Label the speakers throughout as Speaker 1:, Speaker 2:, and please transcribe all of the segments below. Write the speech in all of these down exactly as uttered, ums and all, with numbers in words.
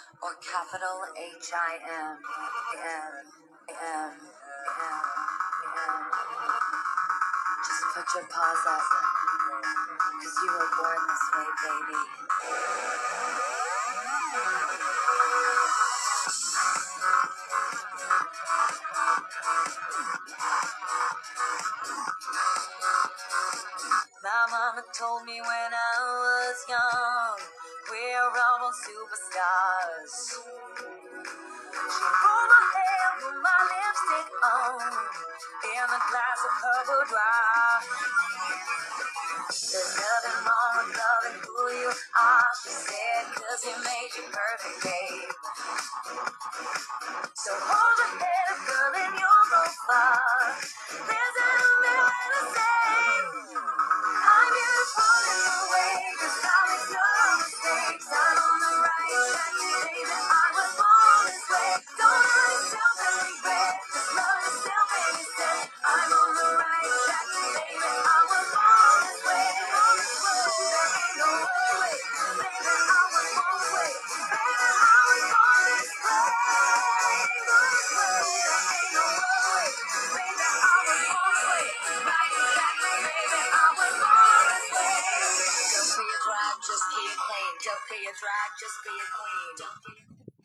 Speaker 1: or capital H I M M M M M. Just put your paws up, cause you were born this way, baby. My mama told me when I was young, we're all superstars. She pulled my hair, put my lipstick on, in a glass of her boudoir. There's nothing wrong with loving who you are, she said, cause he made you perfect, babe. So hold your head up, girl, and you'll go far. There's a million to say. I'm beautiful in the way, cause I make no mistakes. I'm on the right track, baby, I was born this way. Don't hurt yourself and regret, just love yourself and you say, I'm on the right track, baby, I was born this way. There ain't no other way, baby, I was born this way. Baby, I was born this way. Just be a queen. Don't be a drag, just be a queen.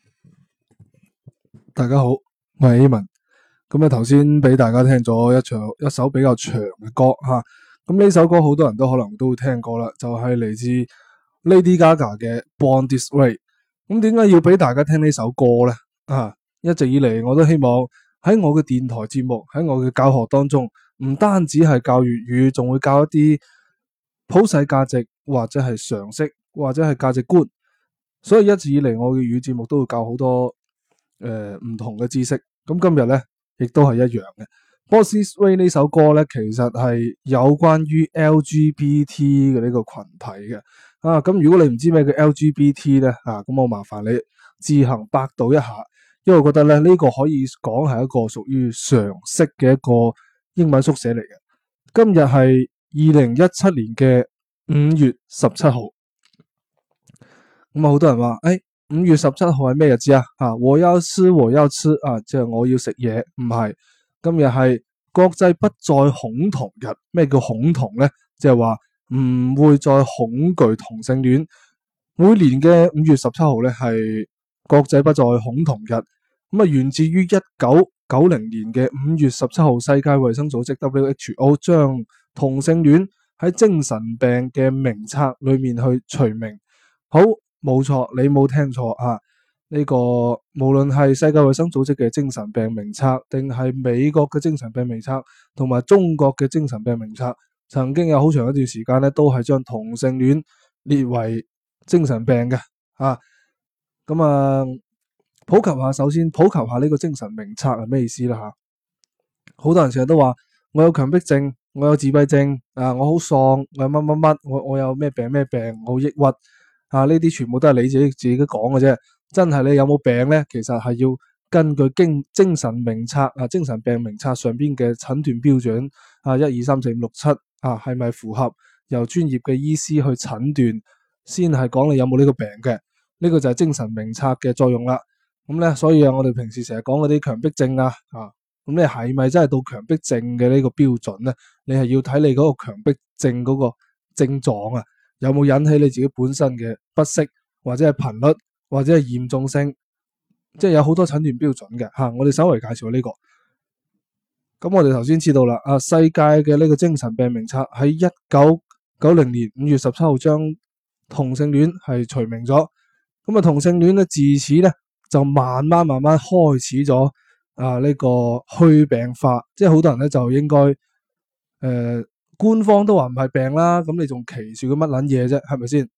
Speaker 2: 大家好，我係 Aman。咁咧頭先俾大家聽咗一場一首比較長嘅歌吓，咁呢首歌好多人都可能都會聽過啦，就係嚟自 Lady Gaga 嘅 Born This Way。咁點解要俾大家聽呢首歌呢？啊，一直以嚟我都希望喺我嘅電台節目，喺我嘅教學當中，唔單止係教粵語，仲會教一啲普世價值或者係常識或者係價值觀。所以一直以嚟我嘅粵語節目都會教好多誒唔、呃、同嘅知識。咁今日咧亦都係一樣嘅。Born This Way 呢首歌咧，其實係有關於 L G B T 嘅呢個群體嘅。啊，咁如果你唔知咩叫 L G B T 咧，啊，咁我麻煩你自行百度一下，因為我覺得咧呢、這個可以講係一個屬於常識嘅一個英文縮寫嚟嘅。今日係二零一七年嘅五月十七號。咁啊，好多人話，誒，五月十七號係咩日子啊？啊，我要吃，我要吃啊，即係我要食嘢，唔係。今日係國際不再恐同日。咩叫恐同咧？即係話唔會再恐懼同性戀。每年嘅五月十七號咧係國際不再恐同日。咁啊，源自於一九九零年嘅五月十七號，世界衛生組織 W H O 將同性戀喺精神病嘅名冊裏面去除名。好。冇錯，你冇聽錯啊！呢個無論係世界衛生組織嘅精神病名冊，定係美國嘅精神病名冊，同埋中國嘅精神病名冊，曾經有好長一段時間咧，都係將同性戀列為精神病嘅啊。咁啊，普及下，首先普及下呢個精神名冊係咩意思啦吓？好多人成日都話我有強迫症，我有自閉症啊，我好喪，我有乜乜乜，我我有咩病咩病，我好抑鬱。啊！呢啲全部都係你自己自己講嘅啫，真係你有冇病咧？其實係要根據經精神名冊啊，精神病名冊上邊嘅診斷標準啊，一二三四五六七啊，係咪符合由專業嘅醫師去診斷，先係講你有冇呢個病嘅？呢個就係精神名冊嘅作用啦。咁咧，所以啊，我哋平時成日講嗰啲強迫症啊，啊，咁你係咪真係到強迫症嘅呢個標準咧？你係要睇你嗰個強迫症嗰個症狀啊。有冇引起你自己本身嘅不適，或者係頻率，或者係嚴重性，即係有好多診斷標準嘅吓。我哋稍微介紹呢個。咁我哋頭先知道啦，啊，世界嘅呢個精神病名冊喺一九九零年五月十七號將同性戀係除名咗。咁啊，同性戀咧自此咧就慢慢慢慢開始咗啊呢個去病化，即係好多人咧就應該誒。呃官方都話唔係病啦，咁你仲歧視佢乜撚嘢啫？係咪先？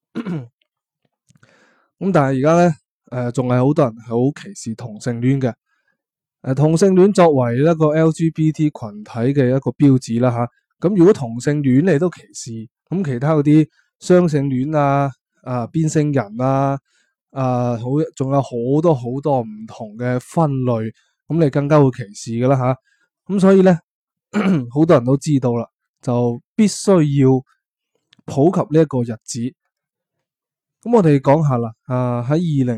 Speaker 2: 咁但係而家咧，誒仲係好多人係好歧視同性戀嘅。誒、呃、同性戀作為一個 L G B T 群體嘅一個標誌啦，吓、啊、咁如果同性戀你都歧視，咁其他嗰啲雙性戀啊、啊變性人啊、啊好仲有好多好多唔同嘅分類，咁你更加會歧視噶啦吓。咁、啊、所以咧，好多人都知道啦。就必須要普及呢一個日子。咁我哋講下啦，啊喺二零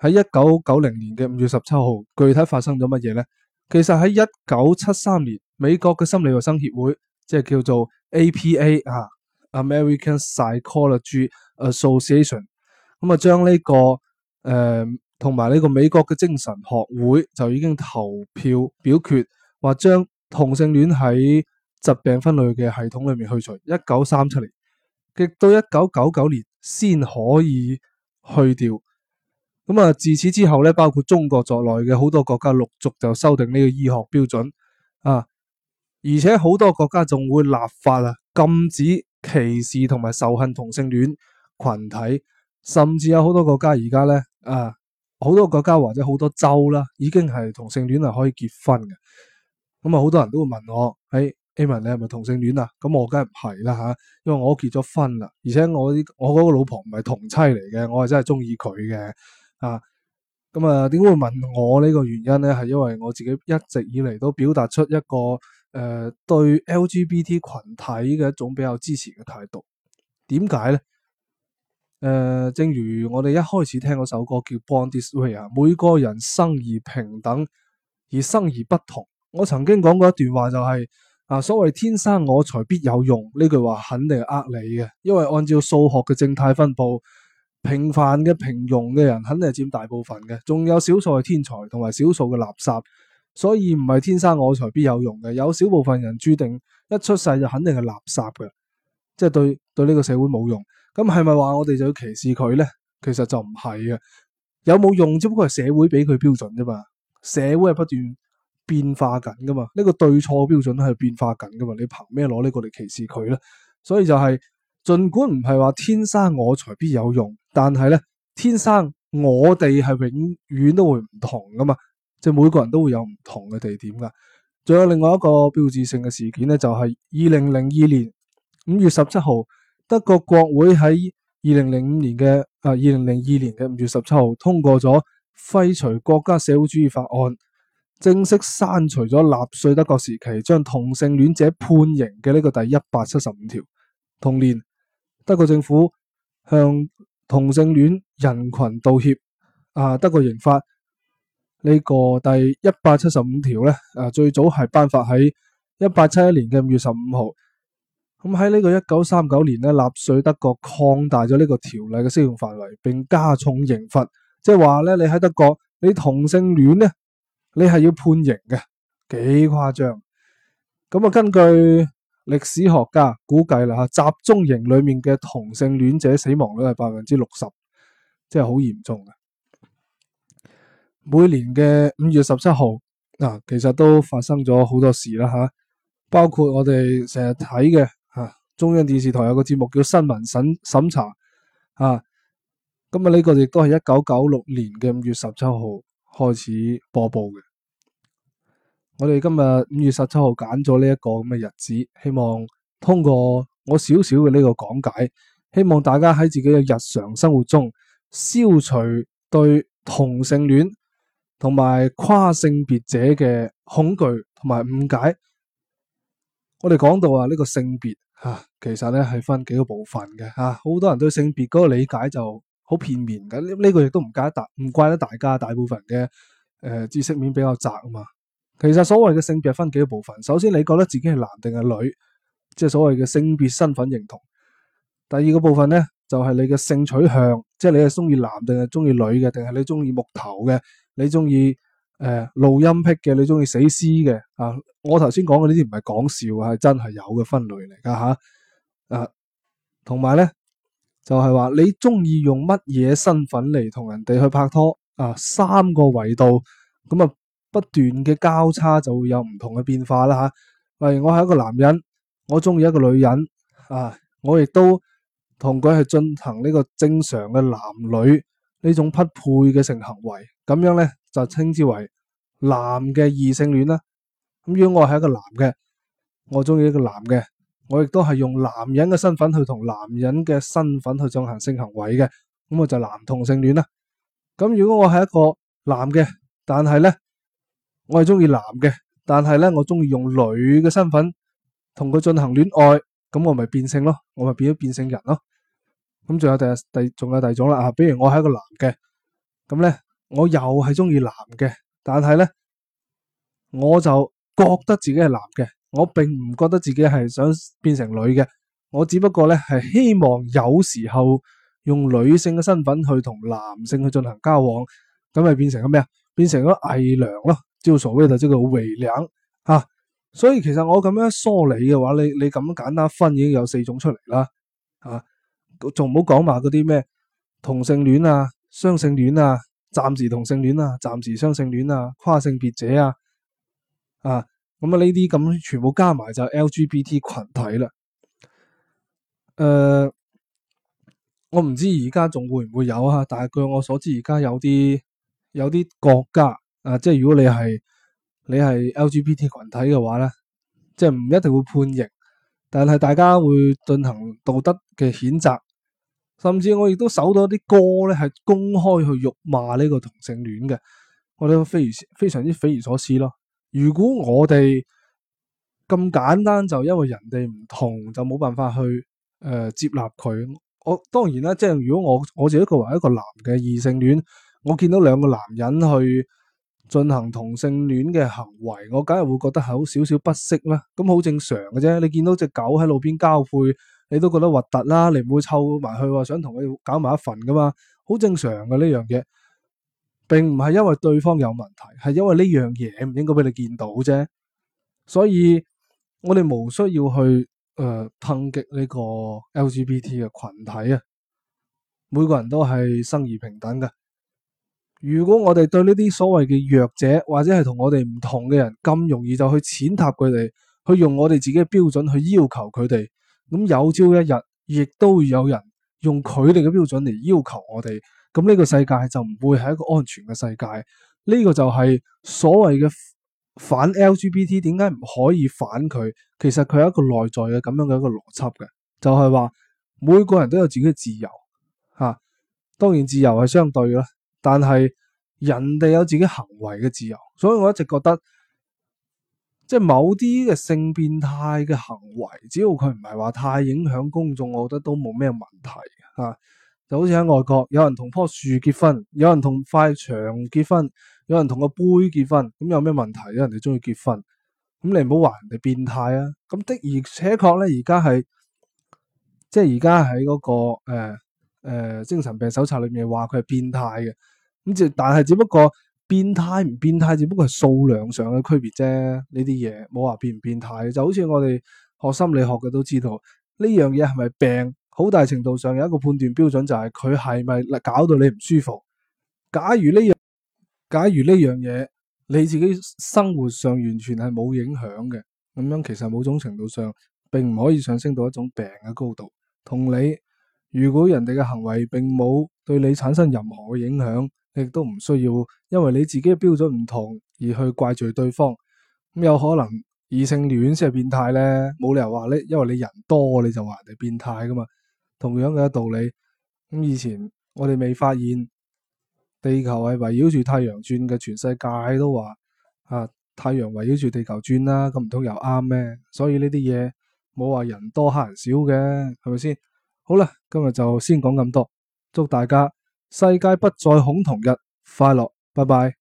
Speaker 2: 喺一九九零年嘅五月十七號，具體發生咗乜嘢呢？其實喺一九七三年，美國嘅心理衛生協會，即係叫做 A P A 啊 ，American Psychology Association，咁啊將呢個誒同埋呢個美國嘅精神學會就已經投票表決，話將同性戀喺疾病分類嘅系統裏面去除。一九三七年，直到一九九九年先可以去掉。咁啊，自此之後咧，包括中國在內嘅好多國家陸續就修訂呢個醫學標準啊，而且好多國家仲會立法啊，禁止歧視同埋仇恨同性戀群體，甚至有好多國家而家咧啊，好多國家或者好多州啦，已經係同性戀係可以結婚嘅。咁啊，好多人都會問我，誒，Amen，你係咪同性戀啊？咁我梗係唔係啦吓，因為我都結咗婚啦，而且我啲我嗰個老婆唔係同妻嚟嘅，我係真係中意佢嘅。啊，咁啊，點解會問我呢個原因咧？係因為我自己一直以嚟都表達出一個誒、呃、對 L G B T 群體嘅一種比較支持嘅態度。點解咧？誒、呃，正如我哋一開始聽嗰首歌叫《Born This Way》啊，每個人生而平等，而生而不同。我曾經講過一段話就係、是、啊，所謂天生我材必有用呢句話肯定係呃你嘅，因為按照數學嘅正態分布。平凡嘅平庸嘅人肯定係佔大部分嘅，仲有少數係天才同埋少數嘅垃圾，所以唔係天生我材必有用嘅。有少部分人注定一出世就肯定係垃圾嘅，即係對對呢個社會冇用。咁係咪話我哋就要歧視佢呢？其實就唔係嘅，有冇用只不過係社會俾佢標準啫嘛。社會係不斷變化緊噶嘛，呢個對錯標準係變化緊噶嘛。你憑咩攞呢個嚟歧視佢呢？所以就係。盡管唔係話天生我材必有用，但係咧天生我哋係永遠都會唔同噶嘛，即係每個人都會有唔同嘅地點噶。仲有另外一個標誌性嘅事件咧，就係二零零二年五月十七號，德國國會喺二零零五年嘅啊二零零二年嘅五月十七號通過咗廢除國家社會主義法案，正式刪除咗納粹德國時期將同性戀者判刑嘅呢個第一百七十五條。同年，德國政府向同性戀人群道歉。啊，德國刑法呢個第一百七十五條咧，啊最早係頒發喺一八七一年嘅五月十五號。咁喺呢個一九三九年咧，納粹德國擴大咗呢個條例嘅適用範圍，並加重刑罰。即係話咧，你喺德國你同性戀咧，你係要判刑嘅，幾誇張。咁啊，根據歷史學家估計啦，吓集中營裏面嘅同性戀者死亡率係百分之六十，即係好嚴重嘅。每年嘅五月十七號啊，其實都發生咗好多事啦吓，包括我哋成日睇嘅吓中央電視台有個節目叫新聞審審查啊，咁啊呢個亦都係一九九六年嘅五月十七號開始播報嘅。我哋今日五月十七號揀咗呢一個咁嘅日子，希望通過我少少嘅呢個講解，希望大家喺自己嘅日常生活中消除對同性戀同埋跨性別者嘅恐懼同埋誤解。我哋講到啊，呢個性別吓，其實咧係分幾個部分嘅吓，好多人對性別嗰個理解就好片面嘅。呢呢個亦都唔怪得大唔怪得大家，大部分嘅誒知識面比較窄啊嘛。其實所謂嘅性別分幾個部分，首先你覺得自己係男定係女，即係所謂嘅性別身份認同。第二個部分咧就係你嘅性取向，即係你係中意男定係中意女嘅，定係你中意木頭嘅，你中意誒露陰癖嘅，你中意死屍嘅啊。我頭先講嘅呢啲唔係講笑啊，係真係有嘅分類嚟噶吓。啊，同埋咧就係話你中意用乜嘢身份嚟同人哋去拍拖啊，三個維度咁啊。不斷嘅交叉就會有唔同嘅變化啦吓，例如我係一個男人，我中意一個女人啊，我亦都同佢係進行呢個正常嘅男女呢種匹配嘅性行為，咁樣咧就稱之為男嘅異性戀啦。咁如果我係一個男嘅，我中意一個男嘅，我亦都係用男人嘅身份去同男人嘅身份去進行性行為嘅，咁我就男同性戀啦。咁如果我係一個男嘅，但係咧我係中意男嘅，但係咧我中意用女嘅身份同佢進行戀愛，咁我咪變性咯，我咪變咗變性人咯。咁仲有第第仲有第二種啦啊，比如我係一個男嘅，咁咧我又係中意男嘅，但係咧我就覺得自己係男嘅，我並唔覺得自己係想變成女嘅，我只不過咧係希望有時候用女性嘅身份去同男性去進行交往，咁咪變成咗咩啊？變成咗偽娘咯，就所謂嘅這個偽娘啊。所以其實我咁樣梳理嘅話，你你咁樣簡單分已經有四種出嚟啦，啊，仲唔好講埋嗰啲咩同性戀啊、雙性戀啊、暫時同性戀啊、暫時雙性戀啊、跨性別者啊，啊，咁啊呢啲咁全部加埋就係 L G B T 群體啦。誒、呃，我唔知而家仲會唔會有啊，但係據我所知，而家有啲有啲國家啊，即係如果你係你係 L G B T 群體嘅話咧，即係唔一定會判刑，但係大家會進行道德嘅譴責，甚至我亦都搜到啲歌咧係公開去辱罵呢個同性戀嘅，我覺得非常非常之匪夷所思咯。如果我哋咁簡單就因為人哋唔同就冇辦法去誒、呃、接納佢，我當然啦，即係如果我我自己作為一個男嘅異性戀，我見到兩個男人去進行同性戀嘅行為，我梗係會覺得係好少少不適啦。咁好正常嘅啫，你見到隻狗喺路邊交配，你都覺得核突啦，你唔會湊埋去話想同佢搞埋一份噶嘛，好正常嘅呢樣嘢，並唔係因為對方有問題，係因為呢樣嘢唔應該俾你見到啫。所以我哋無需要去誒抨擊呢個 L G B T 嘅群體啊，每個人都係生而平等嘅。如果我哋對呢啲所謂嘅弱者或者係同我哋唔同嘅人咁容易就去踐踏佢哋，去用我哋自己嘅標準去要求佢哋，咁有朝一日亦都會有人用佢哋嘅標準嚟要求我哋，咁呢個世界就唔會係一個安全嘅世界。呢個就係所謂嘅反 L G B T 點解唔可以反佢？其實佢係一個內在嘅咁樣嘅一個邏輯嘅，就係話每個人都有自己嘅自由吓，當然自由係相對啦。但係人哋有自己行為嘅自由，所以我一直覺得，即係某啲嘅性變態嘅行為，只要佢唔係話太影響公眾，我覺得都冇咩問題啊。就好似喺外國，有人同棵樹結婚，有人同塊牆結婚，有人同個杯結婚，咁有咩問題？有人哋中意結婚，咁你唔好話人哋變態啊。咁的而且確咧，而家係即係而家喺嗰個誒。呃誒、呃，精神病手冊裏面話佢係變態嘅，咁就但係只不過變態唔變態，只不過係數量上嘅區別啫。呢啲嘢冇話變唔變態，就好似我哋學心理學嘅都知道呢樣嘢係咪病，好大程度上有一個判斷標準就係佢係咪搞到你唔舒服。假如呢樣，假如呢樣嘢你自己生活上完全係冇影響嘅，咁樣其實某種程度上並唔可以上升到一種病嘅高度，同你。如果人哋嘅行為並冇對你產生任何嘅影響，亦都唔需要因為你自己嘅標準唔同而去怪罪對方。咁有可能異性戀先係變態咧，冇理由話咧，因為你人多你就話人哋變態噶嘛。同樣嘅道理，咁以前我哋未發現地球係圍繞住太陽轉嘅，全世界都話啊太陽圍繞住地球轉啦，咁唔通又啱咩？所以呢啲嘢冇話人多黑人少嘅，係咪先？好啦，今日就先講咁多，祝大家世界不再恐同日快樂，拜拜。